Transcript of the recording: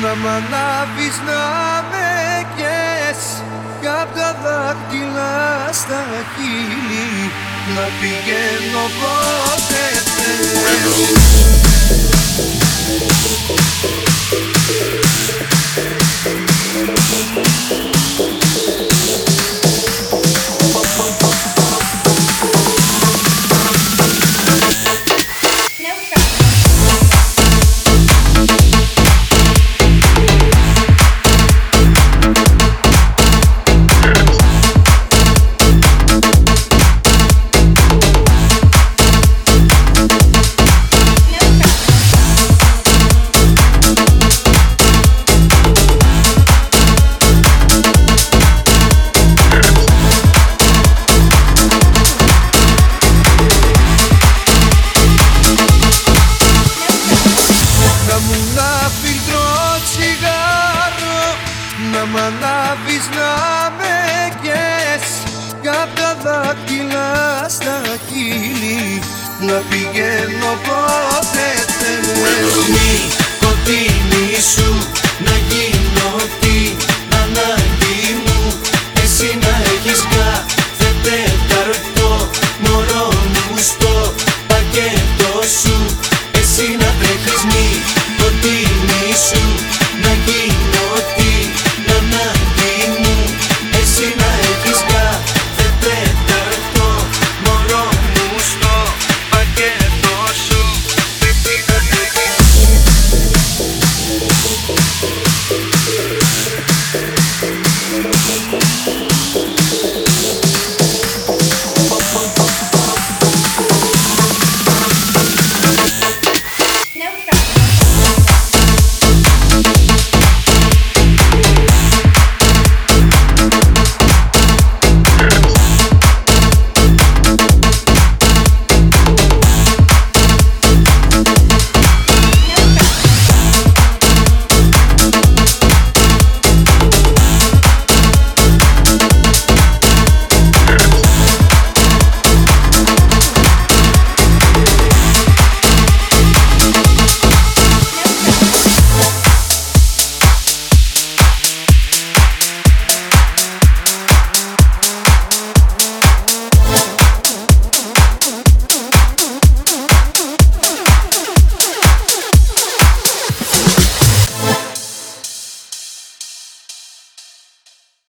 Να μ' ανάβεις να με καις κι απ' τα δάχτυλα στα χείλη να πηγαίνω πότε θες. Να μ' ανάβεις να με καις κι απ' τα δάχτυλα στα χείλη να πηγαίνω πότε θες.